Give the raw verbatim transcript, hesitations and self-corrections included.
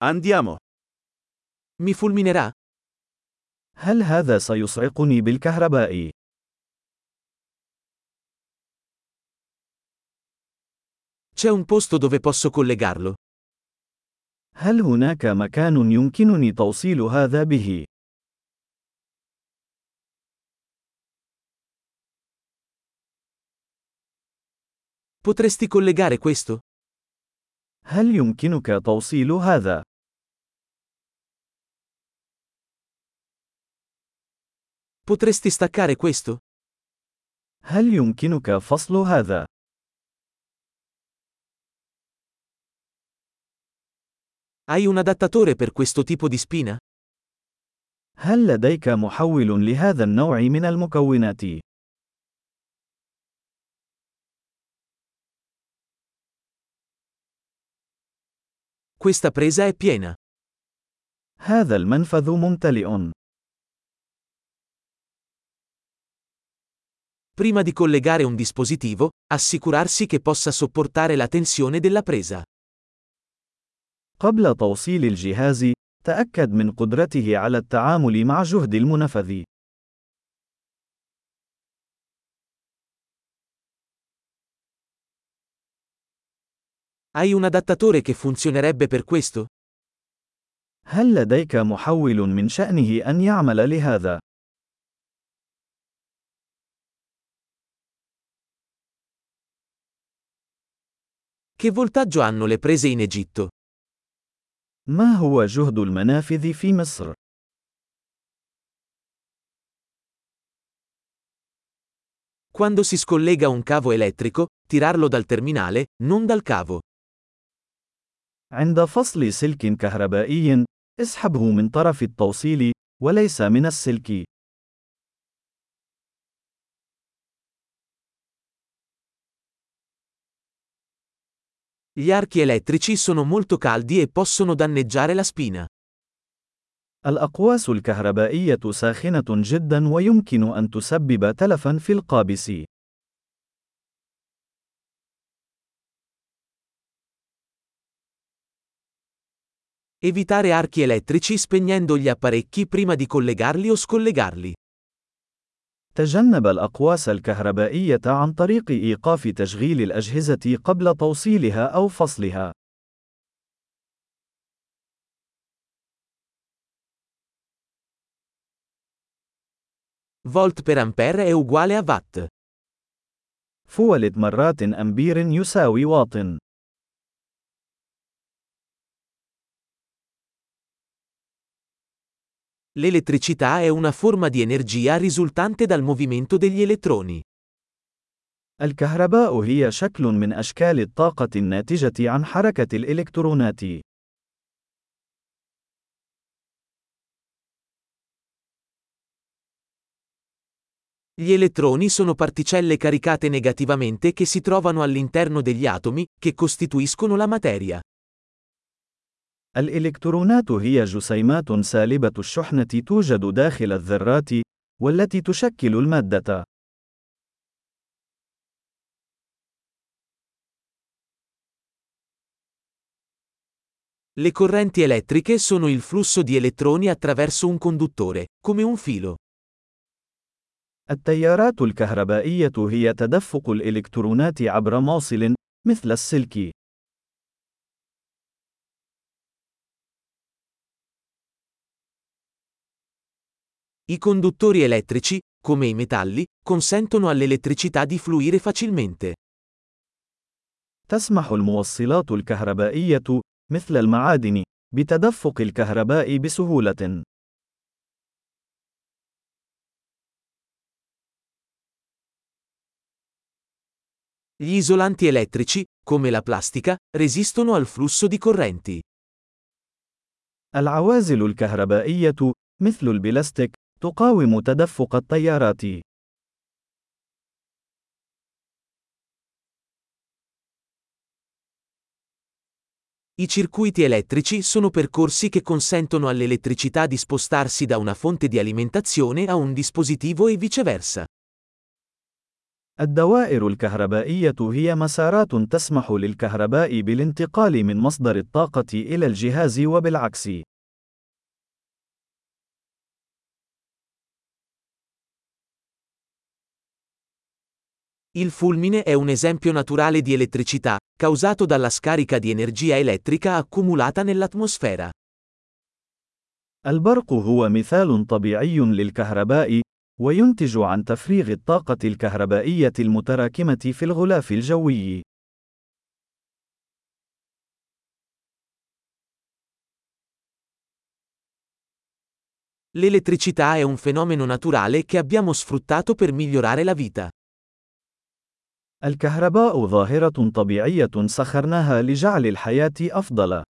Andiamo. Mi fulminerà? هل هذا سيصعقني بالكهرباء؟ C'è un posto dove posso collegarlo? هل هناك مكان يمكنني توصيل هذا به؟ Potresti collegare questo? هل يمكنك توصيل هذا؟ Potresti staccare questo? هل يمكنك فصل هذا؟ Hai un adattatore per questo tipo di spina? هل لديك محول لهذا النوع من المكونات؟ Questa presa è piena. هذا المنفذ ممتلئ. Prima di collegare un dispositivo, assicurarsi che possa sopportare la tensione della presa. قبل توصيل الجهاز، تأكد من قدرته على التعامل مع جهد المنفذ. Hai un adattatore che funzionerebbe per questo? هل لديك محول من شأنه أن يعمل لهذا؟ Che voltaggio hanno le prese in Egitto? ما هو جهد المنافذ في مصر؟ Quando si scollega un cavo elettrico, tirarlo dal terminale, non dal cavo. عند فصل سلك كهربائي، اسحبه من طرف التوصيل، وليس من السلك. Gli archi elettrici sono molto caldi e possono danneggiare la spina. الأقواس الكهربائية ساخنة جدا ويمكن أن تسبب تلفا في القابس. Evitare archi elettrici spegnendo gli apparecchi prima di collegarli o scollegarli. تجنب الأقواس الكهربائية عن طريق إيقاف تشغيل الأجهزة قبل توصيلها أو فصلها. Volt per ampere è uguale a watt. فولت مرات أمبير يساوي واط. L'elettricità è una forma di energia risultante dal movimento degli elettroni. الكهرباء هي شكل من أشكال الطاقة الناتجة عن حركة الإلكترونات. Gli elettroni sono particelle caricate negativamente che si trovano all'interno degli atomi, che costituiscono la materia. الإلكترونات هي جسيمات سالبة الشحنة توجد داخل الذرات، والتي تشكل المادة. Le correnti elettriche sono il flusso di elettroni attraverso un conduttore, come un filo. التيارات الكهربائية هي تدفق الإلكترونات عبر موصل، مثل السلك. I conduttori elettrici, come i metalli, consentono all'elettricità di fluire facilmente. تسمح الموصلات الكهربائية، مثل المعادن، بتدفق الكهرباء بسهولة. Gli isolanti elettrici, come la plastica, resistono al flusso di correnti. العوازل الكهربائية، مثل البلاستيك، تقاوم تدفق التيارات. I circuiti elettrici sono percorsi che consentono all'elettricità di spostarsi da una fonte di alimentazione a un dispositivo e viceversa. الدوائر الكهربائية هي مسارات تسمح للكهرباء بالانتقال من مصدر الطاقة إلى الجهاز وبالعكس. Il fulmine è un esempio naturale di elettricità, causato dalla scarica di energia elettrica accumulata nell'atmosfera. البرق هو مثال طبيعي للكهرباء، وينتج عن تفريغ الطاقة الكهربائية المتراكمة في الغلاف الجوي. L'elettricità è un fenomeno naturale che abbiamo sfruttato per migliorare la vita. الكهرباء ظاهرة طبيعية سخرناها لجعل الحياة أفضل.